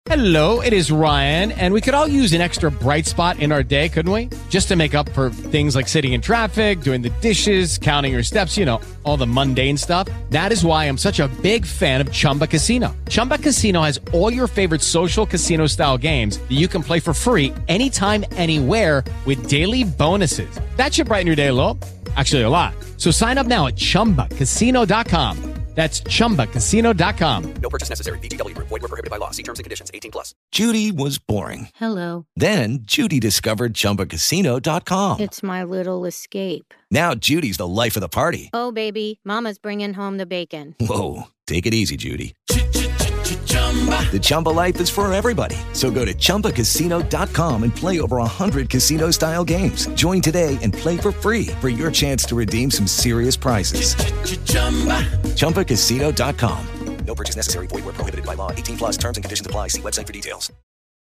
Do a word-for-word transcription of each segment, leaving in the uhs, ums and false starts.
Hello, it is Ryan, and we could all use an extra bright spot in our day, couldn't we? Just to make up for things like sitting in traffic, doing the dishes, counting your steps, you know, all the mundane stuff. That is why I'm such a big fan of Chumba Casino. Chumba Casino has all your favorite social casino-style games that you can play for free anytime, anywhere with daily bonuses. That should brighten your day a little. Actually, a lot. So sign up now at chumba casino dot com. That's chumba casino dot com. No purchase necessary. V G W Group. Void where prohibited by law. See terms and conditions. eighteen plus. Judy was boring. Hello. Then Judy discovered chumba casino dot com. It's my little escape. Now Judy's the life of the party. Oh, baby, mama's bringing home the bacon. Whoa, take it easy, Judy. The Chumba life is for everybody. So go to chumba casino dot com and play over one hundred casino-style games. Join today and play for free for your chance to redeem some serious prizes. chumba casino dot com. No purchase necessary. Void where prohibited by law. eighteen plus terms and conditions apply. See website for details.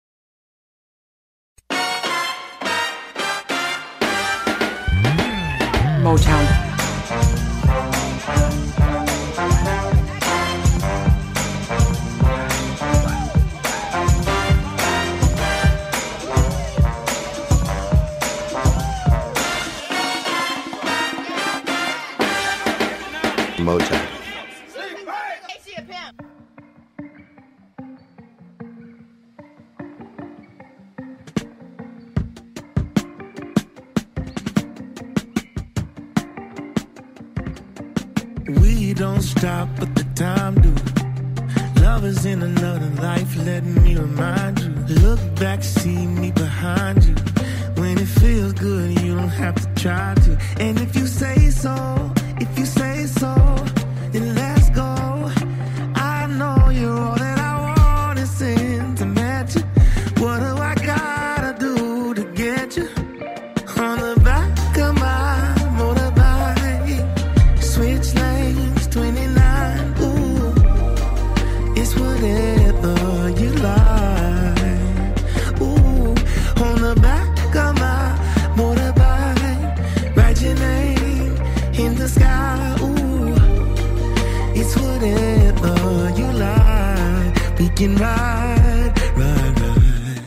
Motown. Motown. We don't stop, but the time do. Love is in another life, let me remind you. Look back, see me behind you. When it feels good, you don't have to try to. And if you say so, if you say so, then let's go. I know you're all that I want is sentimental. What do I gotta do to get you? On the back of my motorbike, switch lanes, twenty-nine, ooh. It's whatever you like, ooh. On the back of my motorbike, write your name in the sky, ooh. It's whatever you like. We can ride, ride, ride.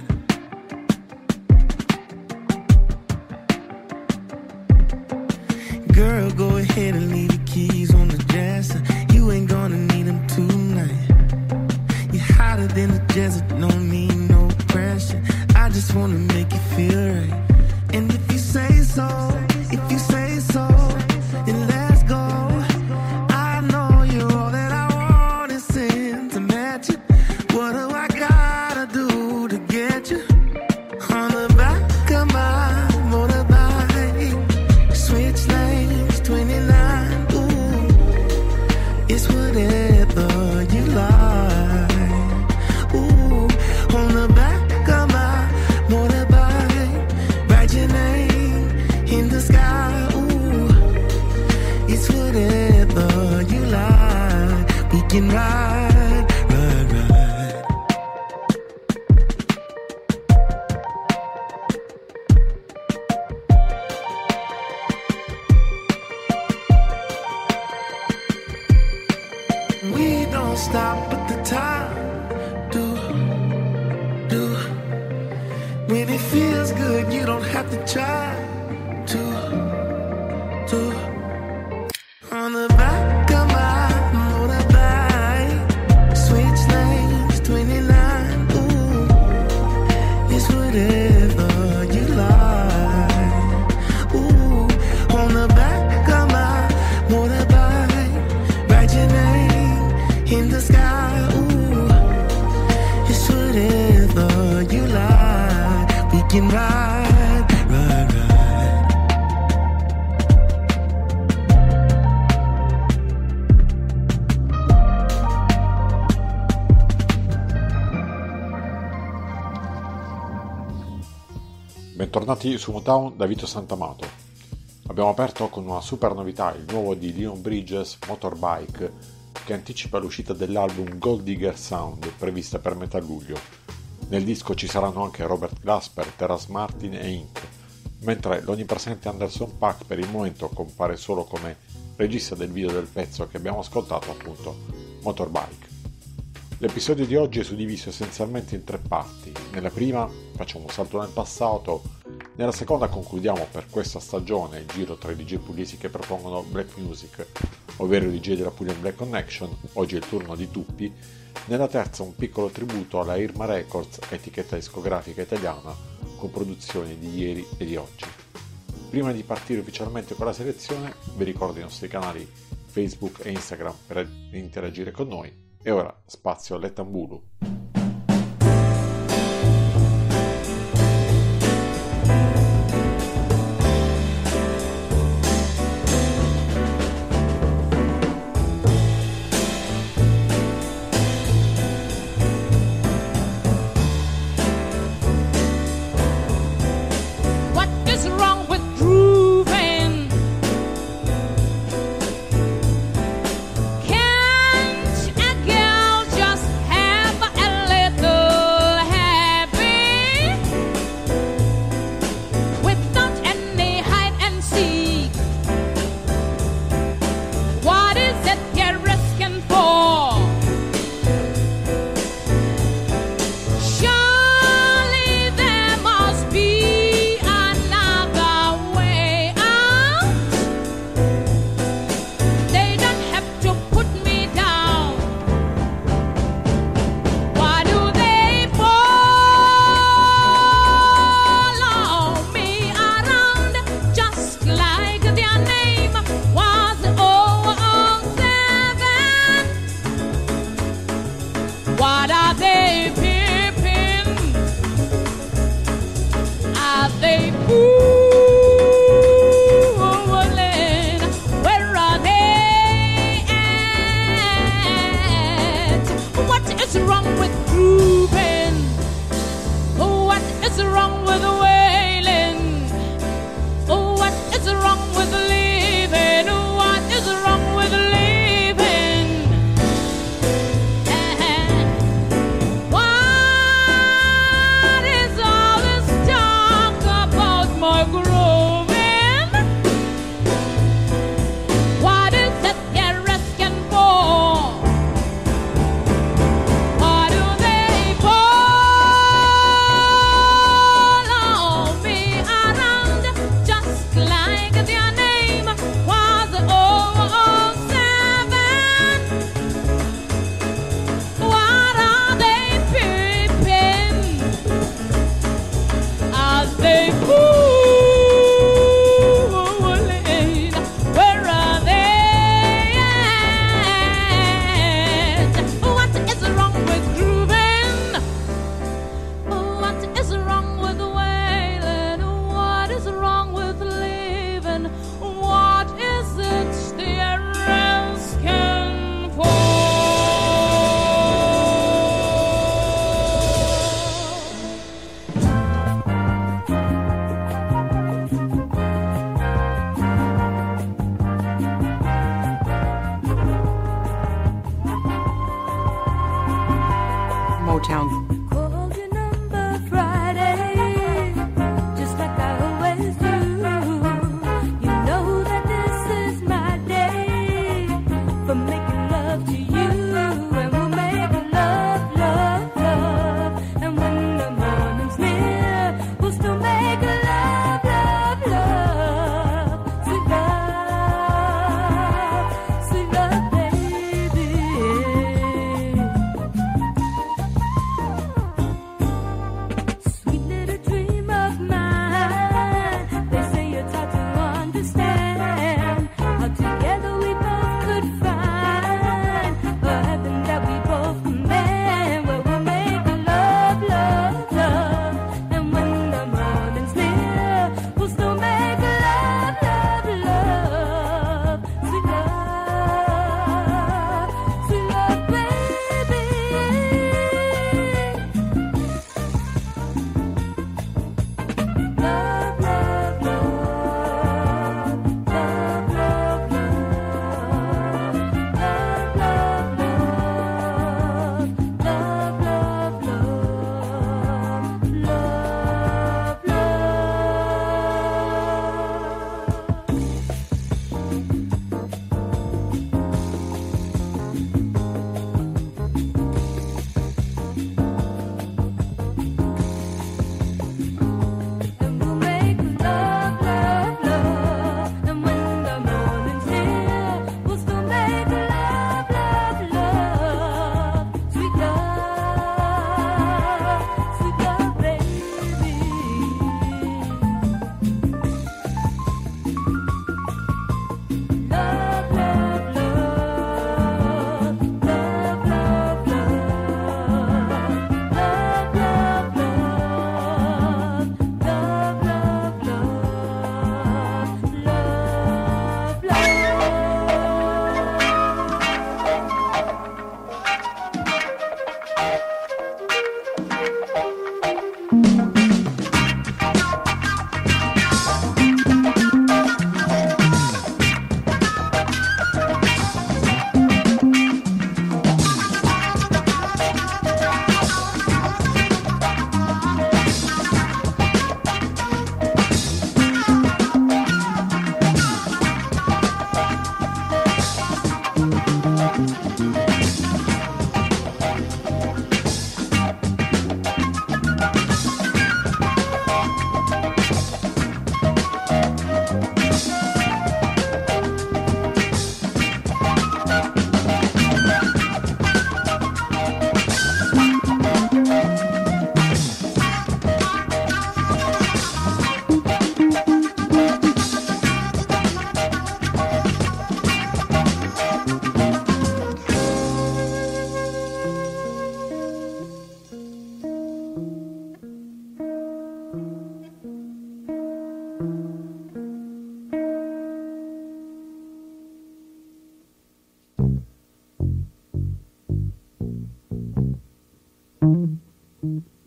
Girl, go ahead and leave the keys on the dresser. You ain't gonna need them tonight. You're hotter than the desert, no need no pressure. I just wanna make you feel right. And if you say so, if you say so, then let's go. I know you're all that I want is sentimental. What do I gotta do to get you? On the back of my motorbike, switch lanes, twenty-nine, ooh. It's whatever you like, ooh. On the back of my motorbike, write your name in the sky, ooh. It's whatever you like. We can ride, ride, ride. We don't stop, but the time do, do. When it feels good, you don't have to try to, to. On the back of my motorbike, switch lanes, twenty-nine, ooh. It's whatever you like, ooh. On the back of my motorbike, write your name in the sky, ooh. It's whatever you like. We can ride, ride, ride. Bentornati su Motown da Vito Santamato. Abbiamo aperto con una super novità, il nuovo di Leon Bridges, Motorbike, che anticipa l'uscita dell'album Gold Digger Sound, prevista per metà luglio. Nel disco ci saranno anche Robert Glasper, Terrace Martin e Inc., mentre l'onnipresente Anderson .Paak per il momento compare solo come regista del video del pezzo che abbiamo ascoltato, appunto Motorbike. L'episodio di oggi è suddiviso essenzialmente in tre parti. Nella prima facciamo un salto nel passato, nella seconda concludiamo per questa stagione il giro tra i D J pugliesi che propongono black music, ovvero i D J della Puglia Black Connection, oggi è il turno di Tuppi, nella terza un piccolo tributo alla Irma Records, etichetta discografica italiana, con produzioni di ieri e di oggi. Prima di partire ufficialmente con la selezione, vi ricordo i nostri canali Facebook e Instagram per interagire con noi. E ora spazio all'Etambulu. Can't a girl just have a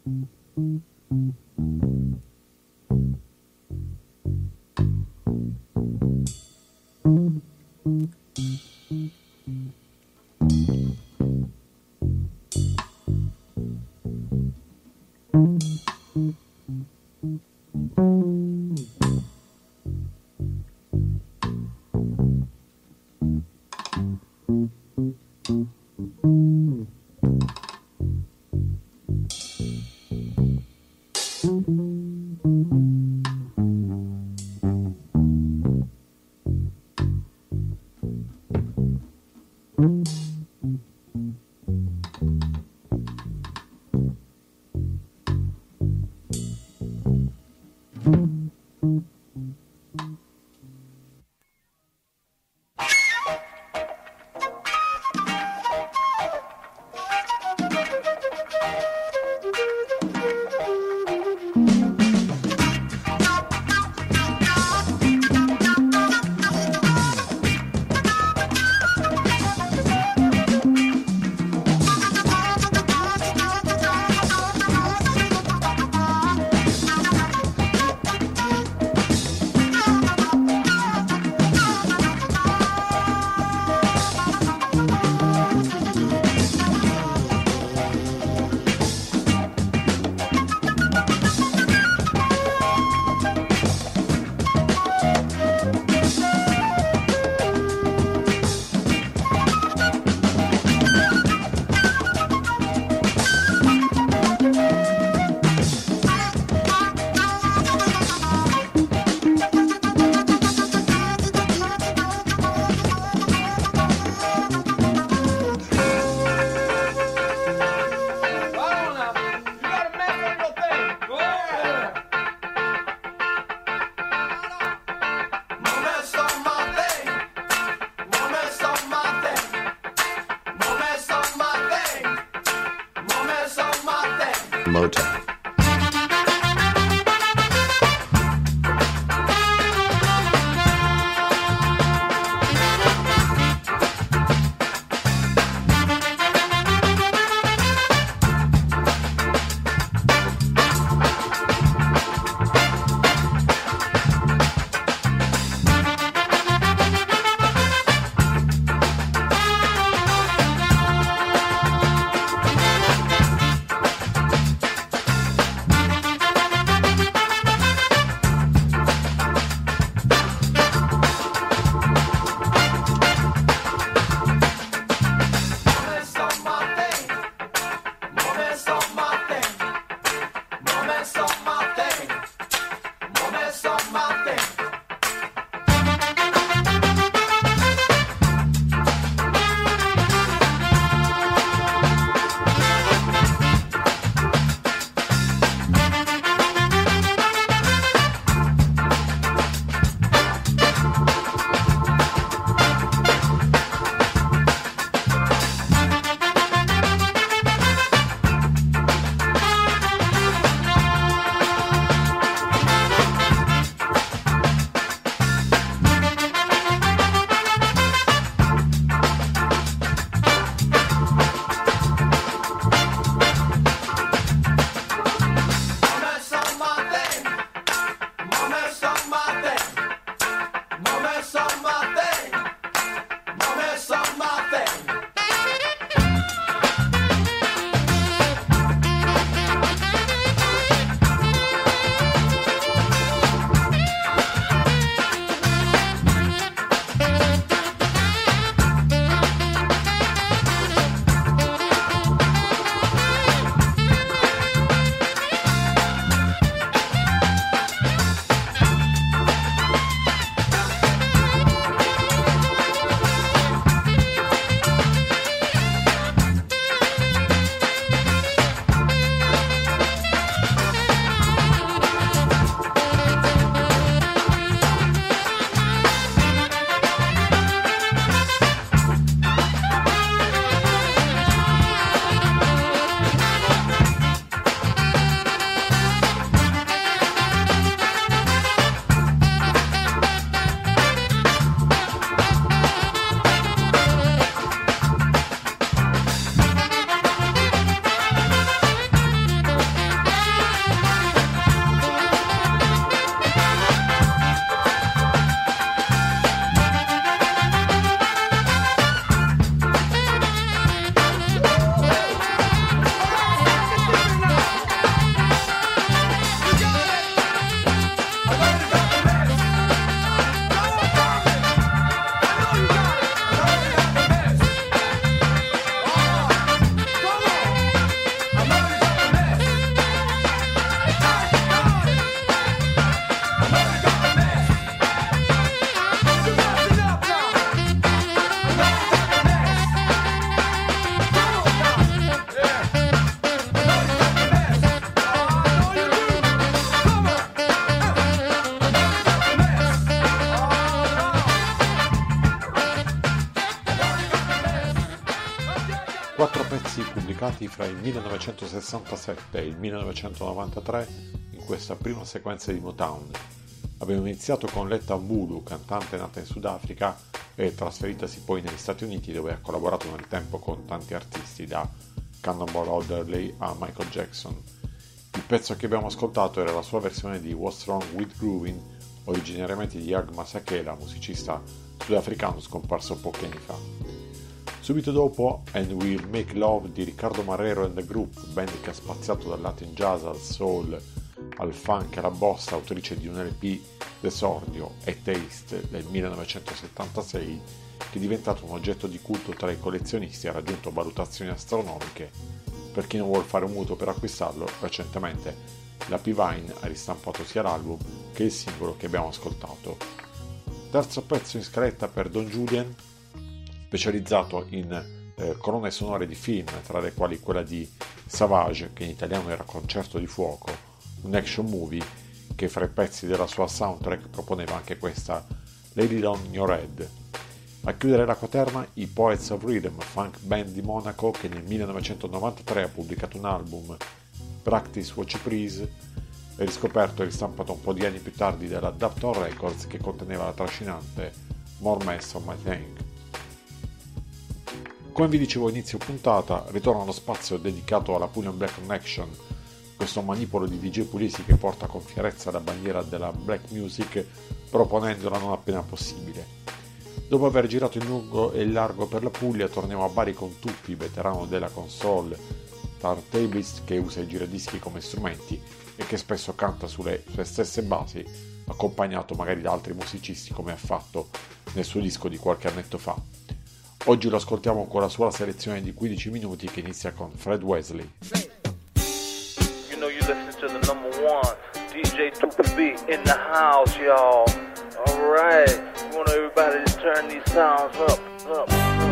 Motown. ambientati fra il millenovecentosessantasette e il millenovecentonovantatré in questa prima sequenza di Motown. Abbiamo iniziato con Letta Mbulu, cantante nata in Sudafrica e trasferitasi poi negli Stati Uniti, dove ha collaborato nel tempo con tanti artisti, da Cannonball Adderley a Michael Jackson. Il pezzo che abbiamo ascoltato era la sua versione di What's Wrong with Groovin', originariamente di Hugh Masekela, musicista sudafricano scomparso pochi anni fa. Subito dopo And We'll Make Love di Riccardo Marrero and the Group, band che ha spaziato dal Latin jazz al soul, al funk e alla bossa, autrice di un L P d'esordio e Taste del millenovecentosettantasei, che è diventato un oggetto di culto tra i collezionisti e ha raggiunto valutazioni astronomiche. Per chi non vuole fare un mutuo per acquistarlo, recentemente la P-Vine ha ristampato sia l'album che il singolo che abbiamo ascoltato. Terzo pezzo in scaletta per Don Julian, specializzato in eh, colonne sonore di film, tra le quali quella di Savage, che in italiano era Concerto di Fuoco, un action movie che fra i pezzi della sua soundtrack proponeva anche questa Lady on Your Head. A chiudere la quaterna i Poets of Rhythm, funk band di Monaco che nel millenovecentonovantatré ha pubblicato un album, Practice What You Please, e riscoperto e ristampato un po' di anni più tardi dalla Dapton Records, che conteneva la trascinante More Mess on My Thing. Come vi dicevo a inizio puntata, ritorna lo spazio dedicato alla Pulian Black Connection, questo manipolo di D J pugliesi che porta con fierezza la bandiera della black music, proponendola non appena possibile. Dopo aver girato in lungo e in largo per la Puglia, torniamo a Bari con Tuppi, veterano della console, turntablist che usa i giradischi come strumenti e che spesso canta sulle sue stesse basi, accompagnato magari da altri musicisti come ha fatto nel suo disco di qualche annetto fa. Oggi lo ascoltiamo con la sua selezione di quindici minuti che inizia con Fred Wesley. You know you listen to the number one, D J Tuppi B in the house, y'all. Alright, I want everybody to turn these sounds up, up, up.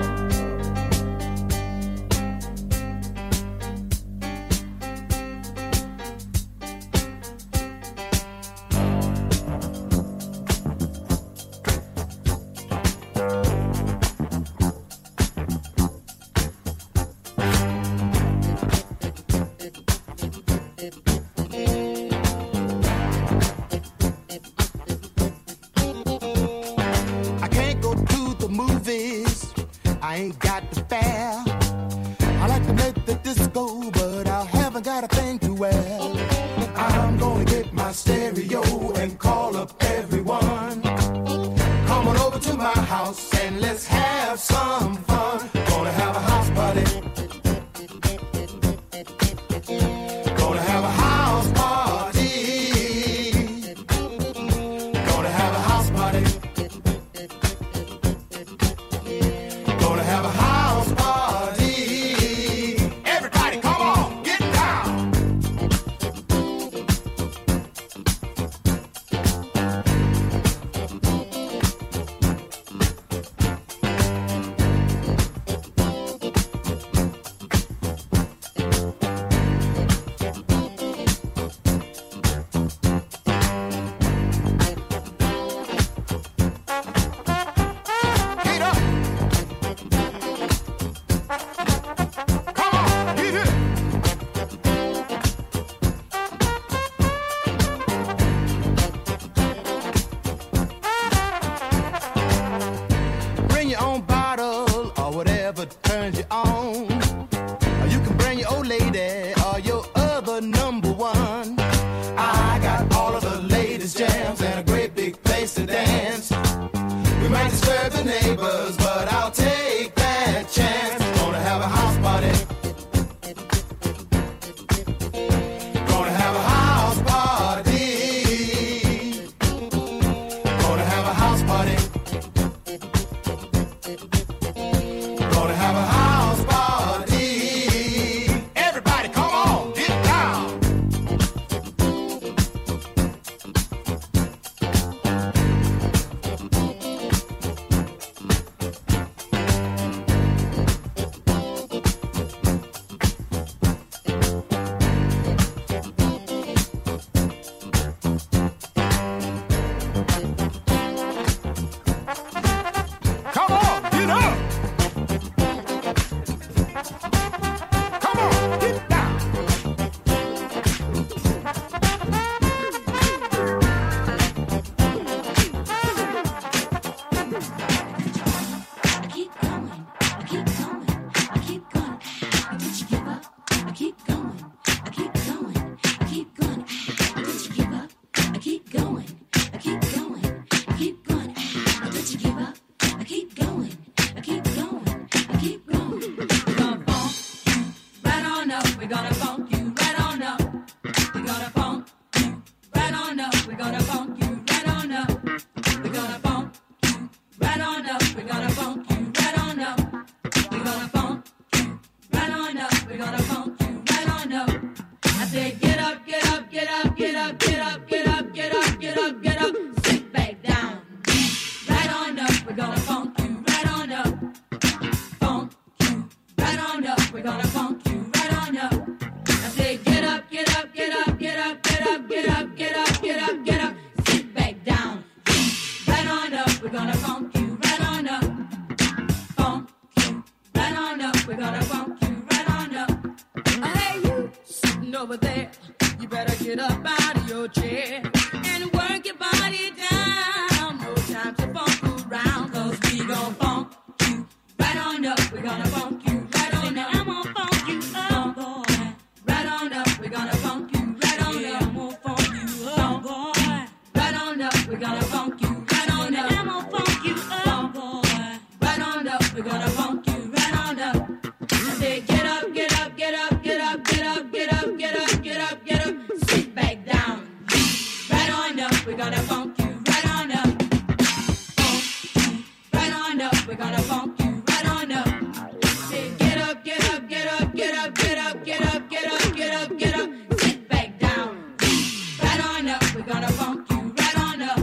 I ain't got the fare. I like to make the disco, but I haven't got a thing to wear. I'm gonna get my stereo and call up everyone. Come on over to my house and let's have some fun. Gonna have a house party. Gonna have a house party. Gonna have a house party. Gonna have a house party. Everybody come on, get down. Get up. Come on, get it. Bring your own bottle or whatever turns you on. Or you can bring your old lady or your other number one. I got all of the latest jams and a great big place to dance. We might disturb the neighbors, but I'll take that chance. Gonna have a house party. Gonna have a house party. Gonna have a house party. Gonna have a house party. Everybody come on, get down. said, get up, get up, get up, get up, get up, get up, get up, get up, get up. Sit back down. Right on up, we're gonna funk you. Right on up. Funk you. Right on up, we're gonna funk you. Right on up. I said, get up, get up, get up, get up, get up, get up, get up, get up, get up. Sit back down. Right on up, we're gonna funk you. Right on up. Funk you. Right on up, we're gonna funk you. Right on up. Hey, you sitting over there. You better get up out of your chair and work your body down. No time to funk around, cause we gon' funk you. Right on up, we're gonna funk you. Right on up, I'm gonna funk you up, boy. Right on up, we're gonna funk you. Right on up, I'm gonna funk you up, boy. Right on up, we're gonna funk you. Right on up, I'm gonna funk you up, boy. Right on up, we're gonna funk you. Right on up. I said, get up, get up, get up, get up, get up, get up, get up, get up, get up. Sit back down. Right on up, we're gonna funk you. Right on up. Funk you. Right on up, we're gonna funk you. Right on up. Say, get up, get up, get up, get up, get up, get up, get up, get up, get up. Sit back down. Right on up, we're gonna funk you. Right on up.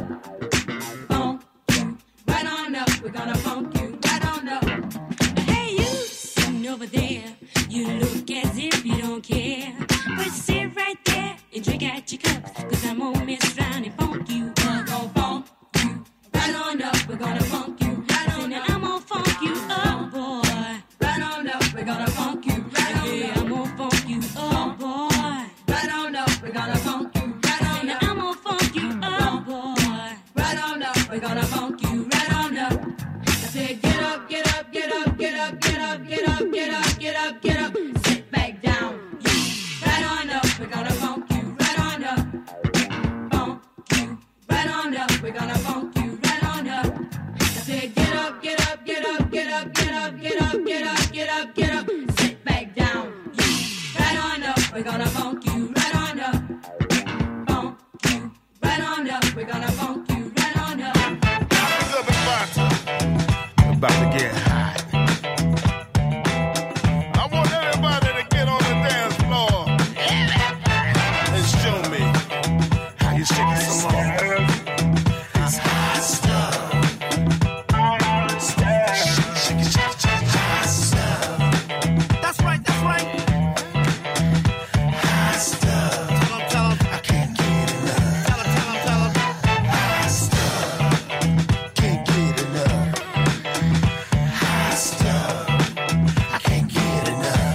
Funk you. Right on up, we're gonna funk you. Right on up. Hey, you sitting over there. You look as if you don't care. But sit right there and drink out your cups. Cause I'm gonna mess around and funk you. We're gonna funk you. Right on up, we're gonna funk you. Right on up, I'm gonna funk you up, boy. Right on up, we're gonna funk you. Right on up, I'm gonna funk you up, boy. Right on up, we're gonna funk you. Right on up, I'm gonna funk you up, boy. Right on up, we're gonna funk you. Right on up. I said, get up, get up, get up, get up, get up, get up, get up, get up, get up. Sit back down. Right on up, we're gonna funk you. Right on up. Funk you. Right on up, we're gonna funk you. Right on up. I said, get up, get up, get up, get up, get up, get up, get up, get up, get up. Sit back down. Right on up, we're gonna funk you. Right on up. Funk you. Right on up, we're gonna funk you. Right on up. About to get high. I want everybody to get on the dance floor and show me how you shake it some more. It's hot stuff. Shake it, shake it, shake it, hot stuff. That's right, that's right. Hot stuff. Tell 'em, tell 'em. I can't get enough. Tell 'em, tell 'em, tell 'em. Hot stuff. Can't get enough. Hot stuff. I can't get enough.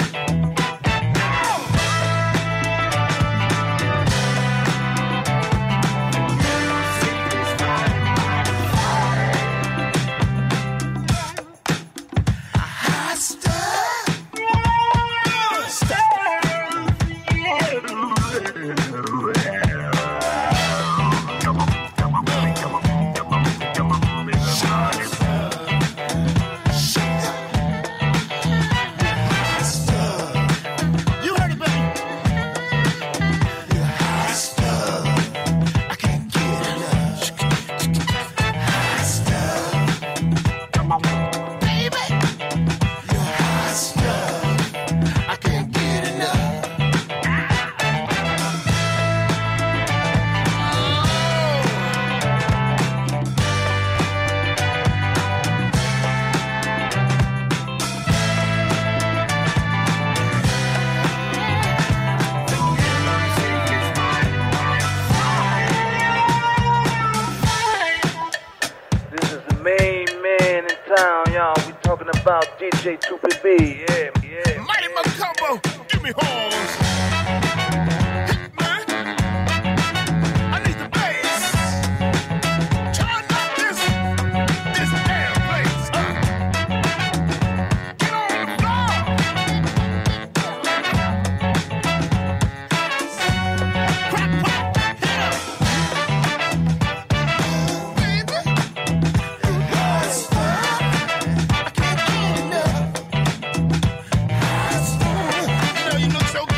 Hot stuff. You heard it, baby. Hot stuff. I can't get enough. Hot stuff. Baby. Hot stuff. I can't get enough. This is the main man in town, y'all. We talking about D J two P B. Yeah, yeah. Mighty Macumbo, give me horns. Hit me. I need the bass. Turn up this, this damn place. Uh. Get on the floor. Crack, pop, hit 'em. Baby. Hot stuff. I can't get enough. Hot stuff. You know you look so good.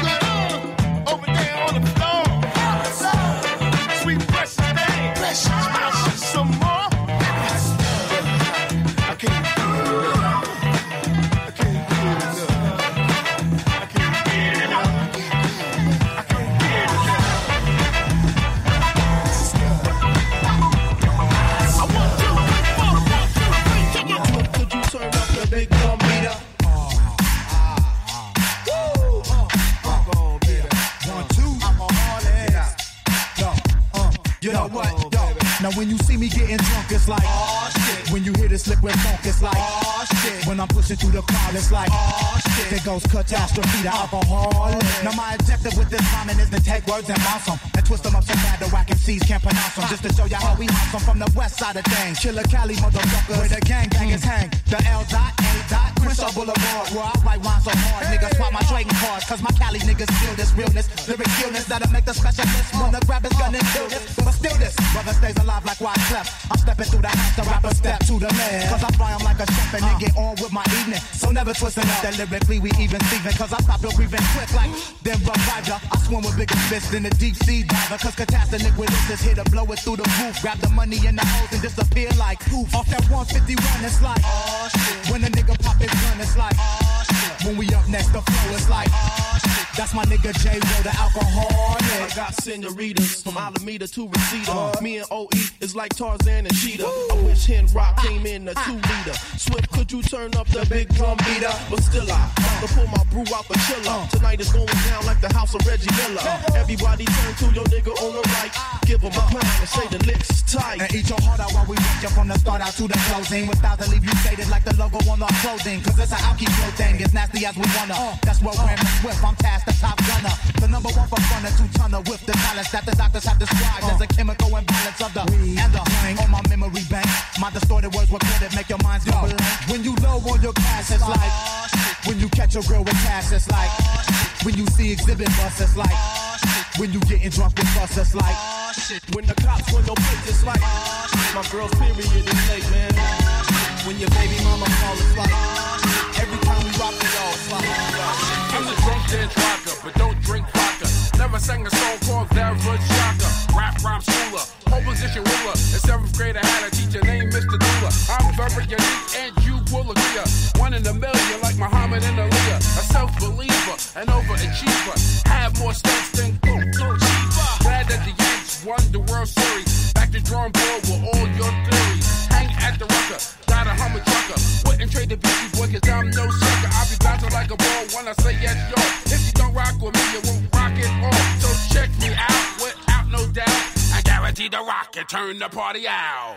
Now when you see me getting drunk, it's like, oh shit. When you hear this liquid funk, it's like, oh shit. When I'm pushing through the crowd, it's like, oh shit. There goes catastrophe, the alcoholic. Now my objective with this rhyming is to take words and bounce them and twist them up so bad the whack M Cs can't pronounce them. Just to show you how we house them from the west side of things. Killer Cali motherfuckers, where the gang bangers hang. The L dot A dot Crenshaw Boulevard, where I write rhymes so hard, niggas swap my trading cards. Cause my Cali niggas feel this realness, lyric illness that'll make the specialist wanna grab his gun and kill this. But still this, brother stays alive like why I slept. I'm stepping through the house, the rapper step to the man. Cause I fly 'em like a chef and then get on with my evening. So never twisting up that lyrically we even Steven. Cause I stop your breathing quick like then revive ya. I swim with bigger fists than the deep sea diver. Cause catastrophe liquid is here to blow it through the roof. Grab the money in the hose and disappear like poof. Off that one fifty-one, it's like, oh shit. When a nigga pop his gun, it's like, oh shit. When we up next, the flow, it's like, oh shit. That's my nigga J-Ro, the alcohol. I got senoritas from Alameda to Reseda. Uh, Me and O E is like Tarzan and Cheetah. Woo. I wish Hen Rock came in a two liter. Swift, could you turn up the big drum beater? But still I uh, to pull my brew out the chiller. Uh, Tonight is going down like the house of Reggie Miller. Uh, Everybody turn to your nigga on the right. Give him a pound and say the licks tight. And eat your heart out while we rock you from the start out to the closing. Without the leave you stated like the logo on our clothing. Cause it's an alky flow thing, as nasty as we wanna. Uh, That's what we're Swift, I'm tasked the top gunner. The number one for fun, a two-tonner with the talents that the doctors have described uh, as a chemical imbalance of the weed and the hang on my memory bank. My distorted words recorded make your minds go blank. When you low on your cash, it's like oh, when you catch a girl with cash, it's like oh, when you see exhibit bus, it's like oh, when you getting drunk with us, it's like oh, when the cops run your place, it's like oh, my girl's period is late, man. When your baby mama call, it's like oh, every time we rock it all, it's like oh, I'm the drunk dance rocker, but don't drink vodka. Never sang a song called Average Shocker. Rap rhyme schooler, pole position ruler. In seventh grade I had a teacher named Mister Dula. I'm very unique and you will agree. One in a million like Muhammad and Aaliyah. A self-believer, an overachiever. Have more stunts than Boom Boom Chief. Glad that the Yanks won the World Series. Back to drawing board with all your theories. Hang at the rucker, got a Hummer trucker. Wouldn't trade the Beastie Boy cause I'm no sucker. I'll be bouncing like a ball when I say yes, yo. If you don't rock with me, you won't rock it all. So check me out without no doubt. I guarantee to rock and turn the party out.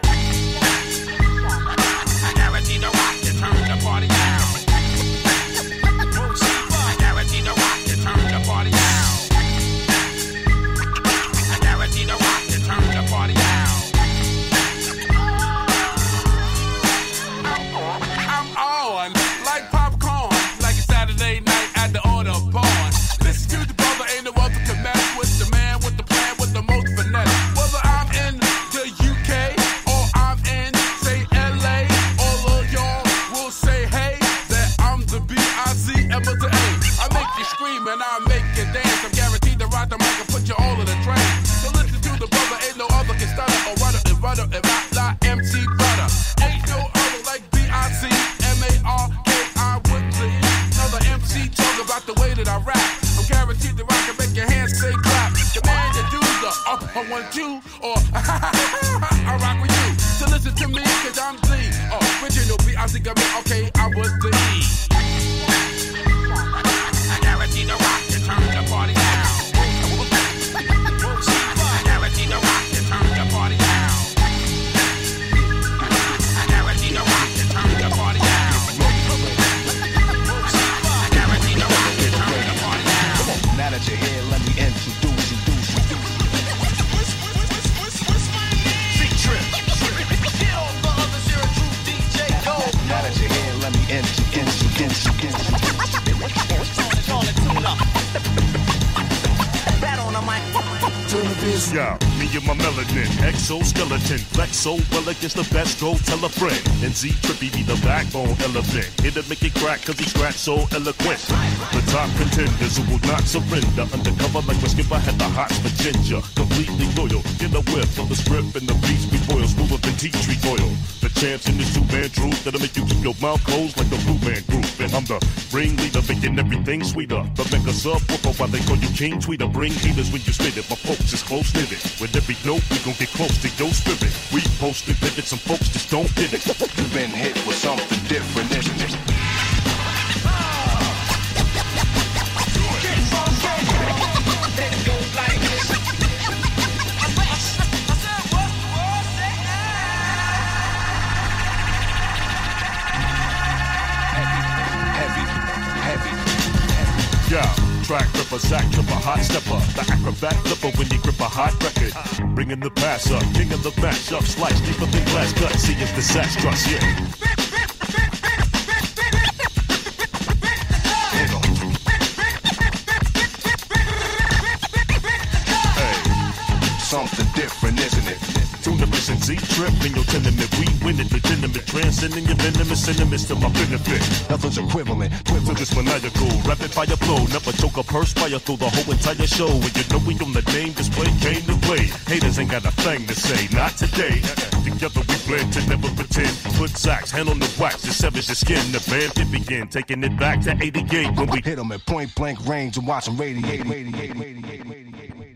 I guarantee to rock and turn the party out. I guarantee to rock and turn the party out. I guarantee to rock and turn the party out. I'm on like popcorn, like a Saturday night at the Autobahn. Listen to the brother, ain't no other can mess with the man with the plan with the most finesse. Whether I'm in the U K or I'm in, say, L A, all of y'all will say, hey, that I'm the B I Z M to A. I make you scream and I make you dance. I'm guaranteed to ride the mic and put you all in the train. So listen to the brother, ain't no other can stutter or rudder and rudder and rock like M C Butter. Ain't no other like B I Z M A R K I with the E. Another M C talk about the way that I rap. I'm guaranteed to rock and make your hands say clap. The man that do the uh, I want you or I rock with you. So listen to me cause I'm the original B I Z got me, okay, I was the E. I guarantee to rock and turn the party out. I guarantee to rock and turn the party out. I guarantee to rock and turn the party out. I guarantee to rock and turn the party out. Now that you're here, let me introduce you. C-Trip. Now that you're here, let me introduce you. Yeah, me and my melanin, exoskeleton, flexo, well against the best, go tell a friend. And Z Trippy be the backbone elephant. Here to make it crack cause he scratch so eloquent. The top contenders who will not surrender. Undercover like my skipper had the hots for ginger. Completely loyal, get a whiff of the strip and the beast we boil, smoother than tea tree oil. The champs in this two-man troupe that'll make you keep your mouth closed like the Blue Man Group. And I'm the ringleader, making everything sweeter. The mega subwoofer, why they call you King Tweeter. Bring heaters when you spit it, my folks is close knitted. With every note, we gon' get close to your spirit. We posted pivot, some folks just don't get it. You've been hit with something different, isn't it? stepper, Zach Tripper, hot stepper, the acrobat flipper when you grip a hot record. Bringing the pass up, king of the matchup, slice deeper than glass cut, see if the sax trust, yeah. Something different, isn't it? Tuna mission Z-Trip in your tenement. We win it, legitimate. Transcending your venomous enemies to my benefit. Nothing's equivalent. Twin this maniacal. Rapid fire flow. Never choke a perspire through the whole entire show. And you know we on the name display came to play. Haters ain't got a thing to say. Not today. Together we blend to never pretend. Put sacks, hand on the wax. To savage the skin. The band can begin. Taking it back to eighty-eight when we hit them at point blank range and watch them radiate, radiate, radiate, radiate.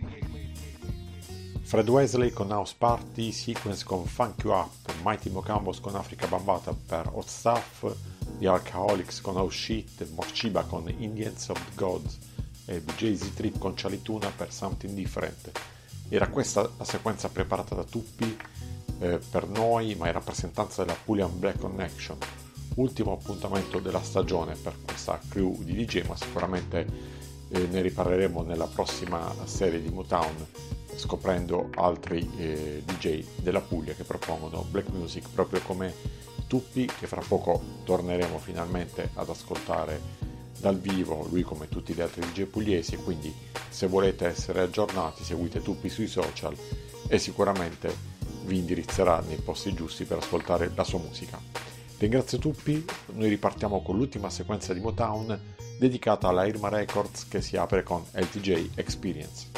Fred Wesley con House Party, Sequence con Funk You Up, Mighty Mocambos con Africa Bambata per Hot Stuff, The Alcoholics con House Shit, Morciba con Indians of the Gods e D J Z-Trip con Chalituna per Something Different. Era questa la sequenza preparata da Tuppi eh, per noi, ma in rappresentanza della Pulian Black Connection. Ultimo appuntamento della stagione per questa crew di D J, ma sicuramente eh, ne riparleremo nella prossima serie di Motown, scoprendo altri eh, D J della Puglia che propongono black music proprio come Tuppi, che fra poco torneremo finalmente ad ascoltare dal vivo, lui come tutti gli altri D J pugliesi. E quindi se volete essere aggiornati seguite Tuppi sui social e sicuramente vi indirizzerà nei posti giusti per ascoltare la sua musica. Ringrazio Tuppi, noi ripartiamo con l'ultima sequenza di Motown dedicata alla Irma Records che si apre con L T J Experience.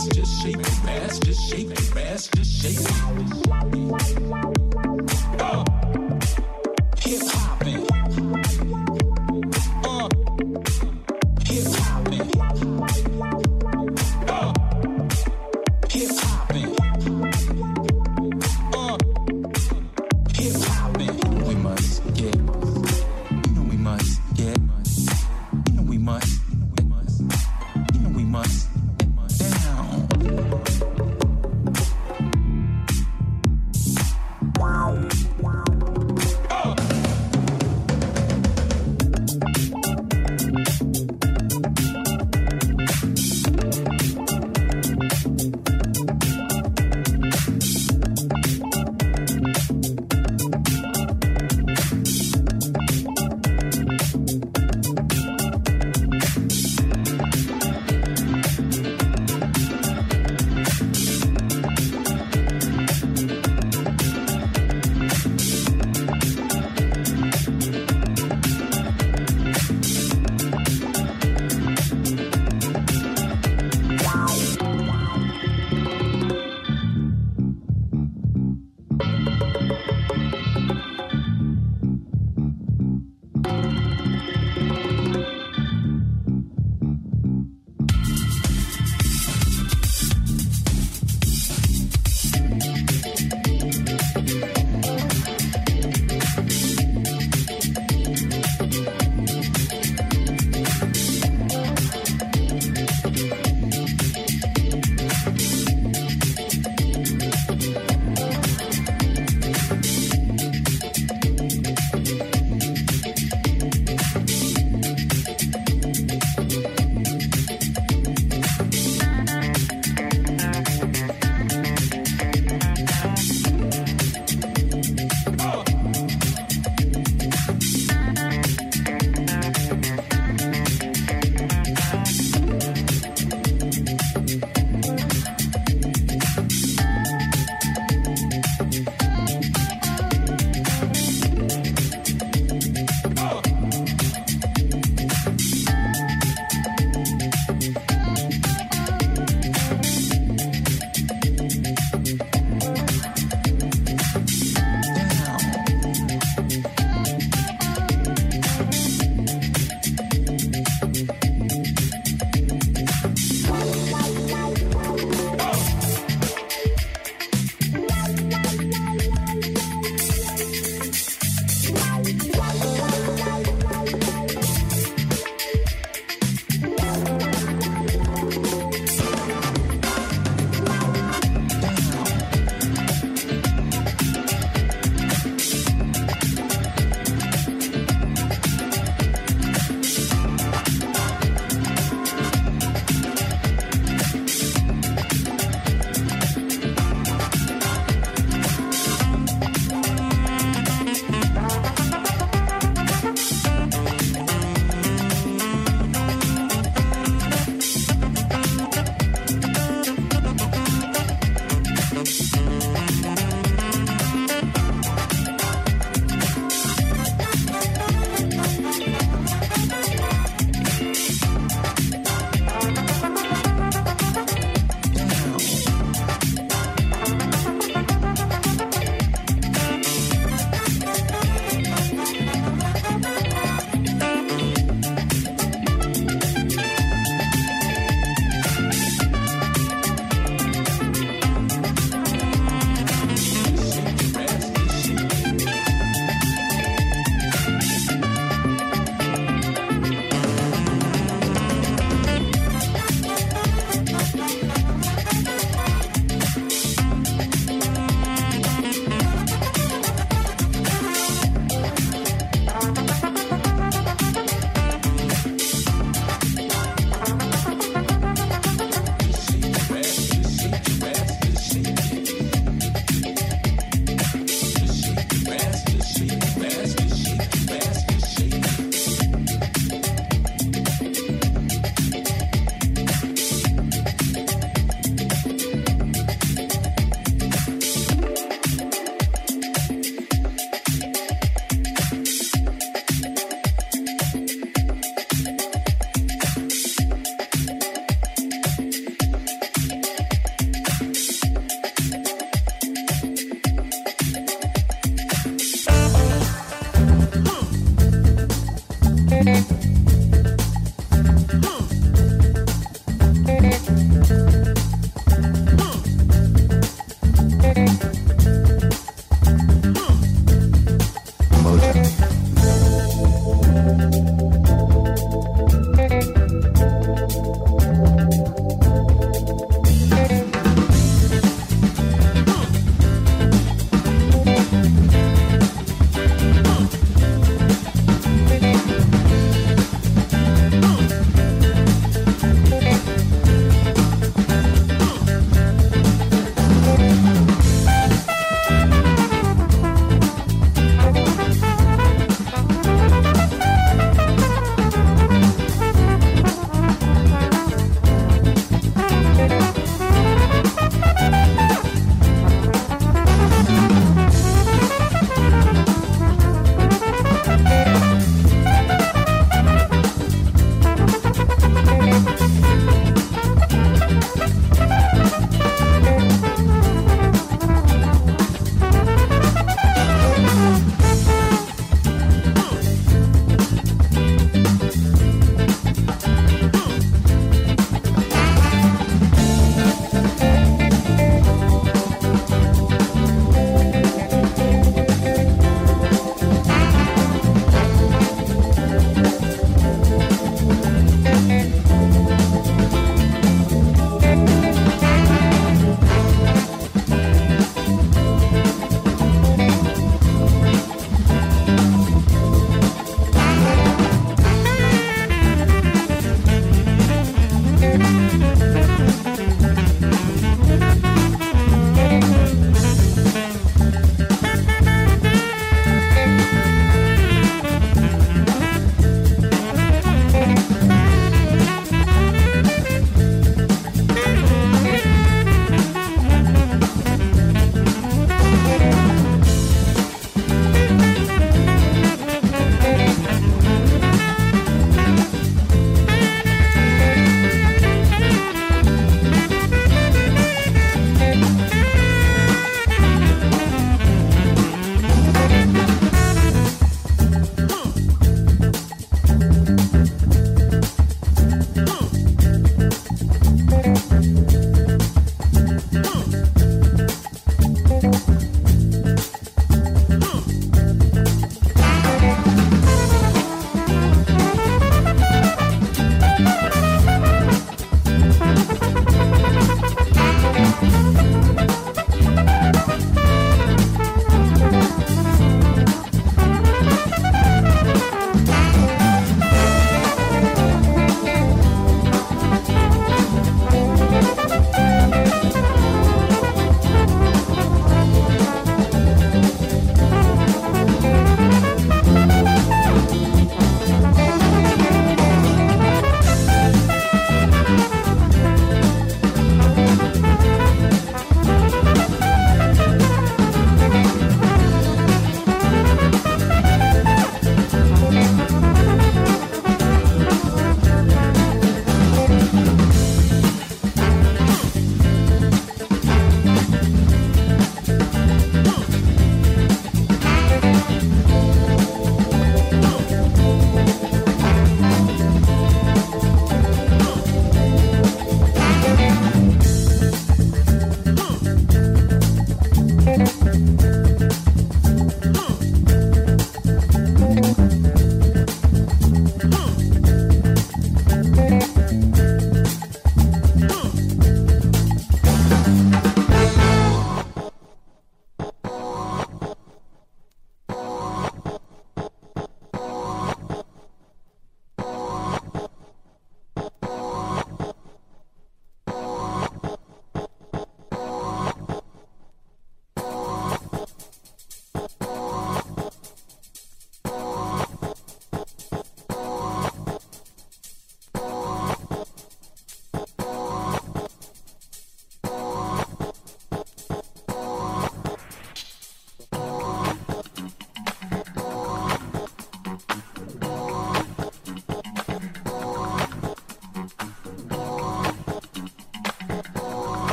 ass, just shake your ass, just shake your ass, just shake it. Uh, hip hopping. Uh, hip hopping. Uh, hip hopping. Uh, hip hopping. We must get. You know we must get. You know we must. You know we must. Down. Wow. Wow.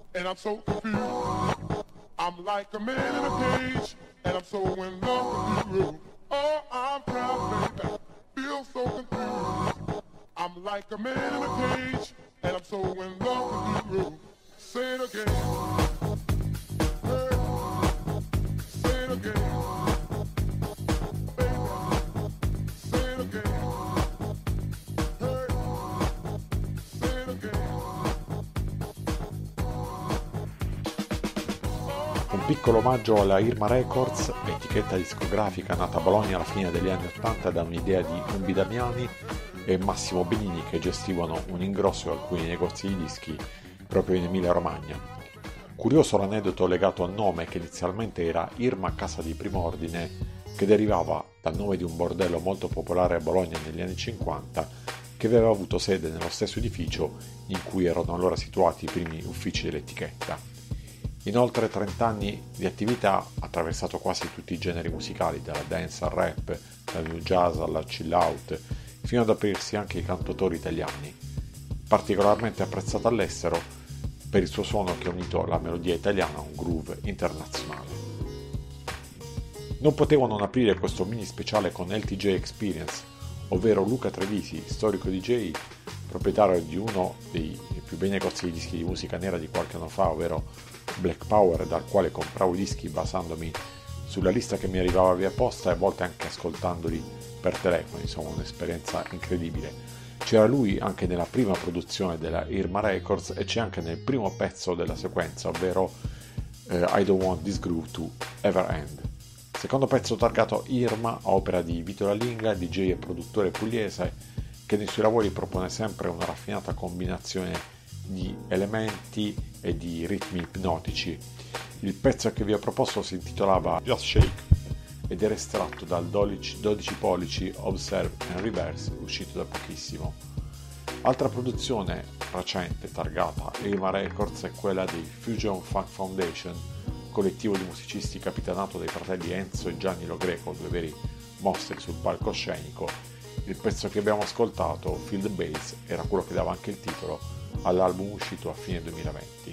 and I'm so confused. I'm like a man in a cage, and I'm so in love with you. Oh, I'm proud, baby, feel so confused. I'm like a man in a cage, and I'm so in love with you. Say it again. Hey, say it again. Baby, say it again. Hey, say it again. Un piccolo omaggio alla Irma Records, etichetta discografica nata a Bologna alla fine degli anni ottanta da un'idea di Umbi Damiani e Massimo Benini, che gestivano un ingrosso di alcuni negozi di dischi proprio in Emilia Romagna. Curioso l'aneddoto legato al nome, che inizialmente era Irma Casa di Prim'Ordine, che derivava dal nome di un bordello molto popolare a Bologna negli anni cinquanta, che aveva avuto sede nello stesso edificio in cui erano allora situati i primi uffici dell'etichetta. In oltre trenta anni di attività ha attraversato quasi tutti i generi musicali, dalla dance al rap, dal new jazz alla chill out, fino ad aprirsi anche ai cantautori italiani. Particolarmente apprezzato all'estero per il suo suono che ha unito la melodia italiana a un groove internazionale. Non potevo non aprire questo mini speciale con L T J Experience, ovvero Luca Trevisi, storico D J, proprietario di uno dei più bei negozi di dischi di musica nera di qualche anno fa, ovvero Black Power, dal quale compravo i dischi basandomi sulla lista che mi arrivava via posta e a volte anche ascoltandoli per telefono, insomma un'esperienza incredibile. C'era lui anche nella prima produzione della Irma Records e c'è anche nel primo pezzo della sequenza, ovvero eh, I Don't Want This Groove to Ever End. Secondo pezzo targato Irma, opera di Vito Lalinga, D J e produttore pugliese, che nei suoi lavori propone sempre una raffinata combinazione di elementi e di ritmi ipnotici. Il pezzo che vi ho proposto si intitolava Just Shake ed era estratto dal dodici pollici Observe and Reverse, uscito da pochissimo. Altra produzione recente targata Irma Records è quella dei Fusion Funk Foundation, collettivo di musicisti capitanato dai fratelli Enzo e Gianni Lo Greco, due veri mostri sul palcoscenico. Il pezzo che abbiamo ascoltato, Feel the Bass, era quello che dava anche il titolo all'album uscito a fine duemilaventi.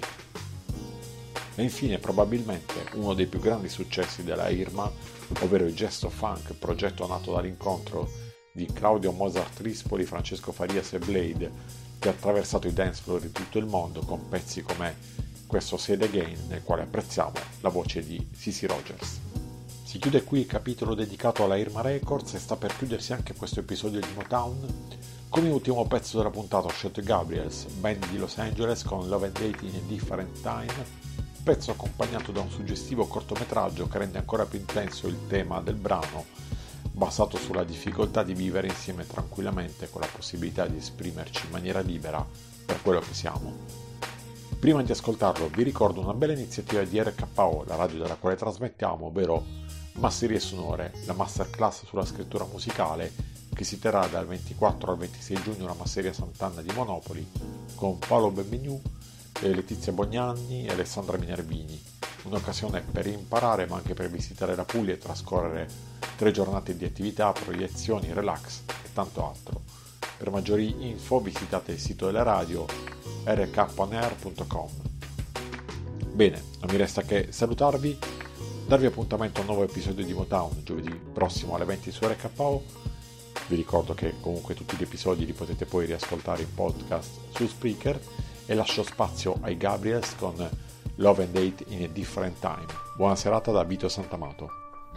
E infine probabilmente uno dei più grandi successi della Irma, ovvero il Gesto Funk, progetto nato dall'incontro di Claudio Mozart Rispoli, Francesco Farias e Blade, che ha attraversato i dance floor di tutto il mondo con pezzi come questo Say It Again, nel quale apprezziamo la voce di Cissy Rogers. Si chiude qui il capitolo dedicato alla Irma Records e sta per chiudersi anche questo episodio di Motown. Come ultimo pezzo della puntata Shot Gabriels, band di Los Angeles, con Love and Hate in a Different Time, pezzo accompagnato da un suggestivo cortometraggio che rende ancora più intenso il tema del brano, basato sulla difficoltà di vivere insieme tranquillamente con la possibilità di esprimerci in maniera libera per quello che siamo. Prima di ascoltarlo vi ricordo una bella iniziativa di R K O, la radio dalla quale trasmettiamo, ovvero Masserie Sonore, la masterclass sulla scrittura musicale che si terrà dal ventiquattro al ventisei giugno alla Masseria Sant'Anna di Monopoli con Paolo Benvenu, Letizia Bognanni e Alessandra Minervini. Un'occasione per imparare ma anche per visitare la Puglia e trascorrere tre giornate di attività, proiezioni, relax e tanto altro. Per maggiori info visitate il sito della radio r k on air punto com. Bene, non mi resta che salutarvi, darvi appuntamento a un nuovo episodio di Motown giovedì prossimo alle venti su R K O. Vi ricordo che comunque tutti gli episodi li potete poi riascoltare in podcast su Spreaker e lascio spazio ai Gabriels con Love and Hate in a Different Time. Buona serata da Vito Santamato.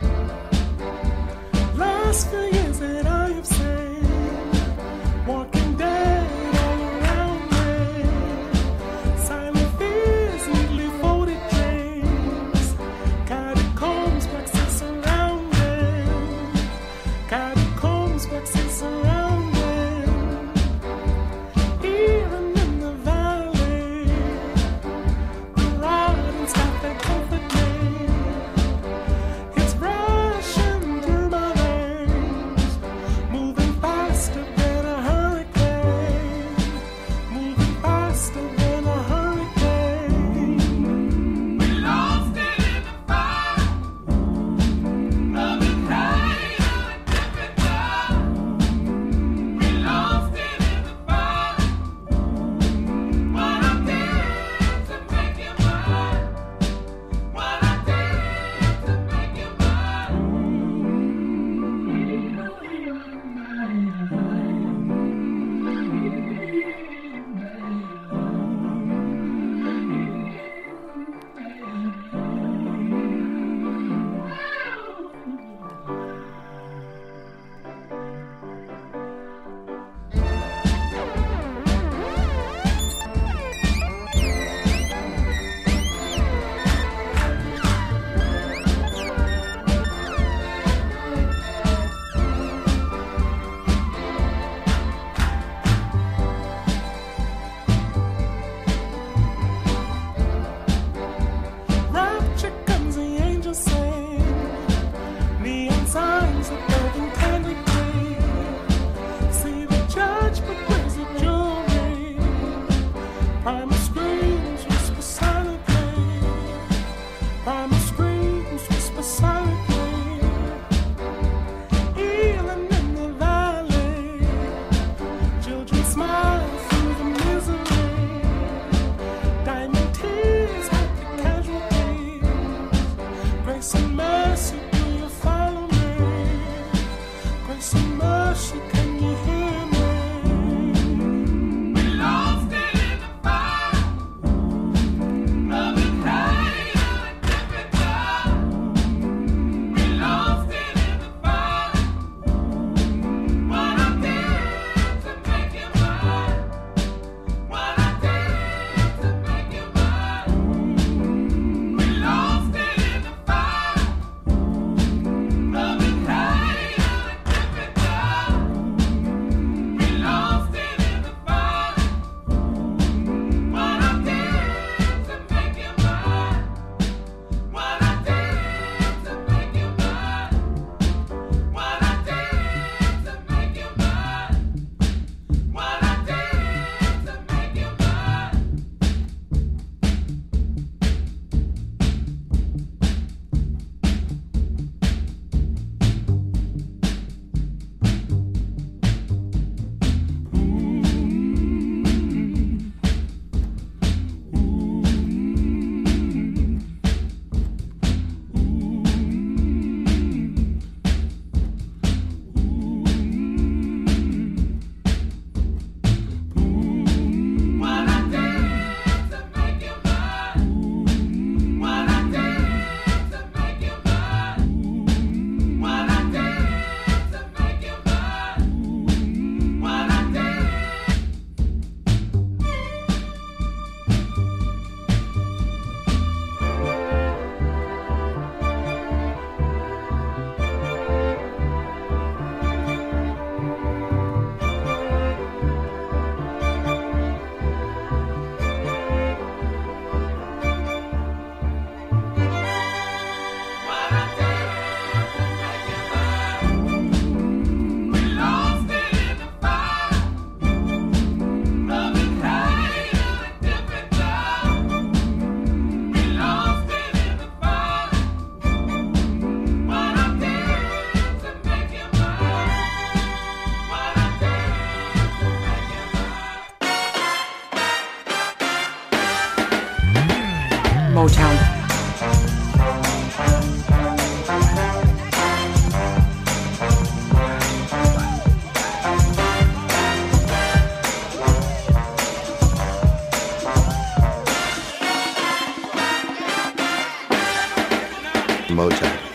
Last few years that I have seen, walking dead all around me, silent fears, neatly folded dreams, catacombs, waxing surrounding, catacombs, waxing surrounding, even in the valley, the light and stuff that comfort me, it's rushing through my veins. Motown.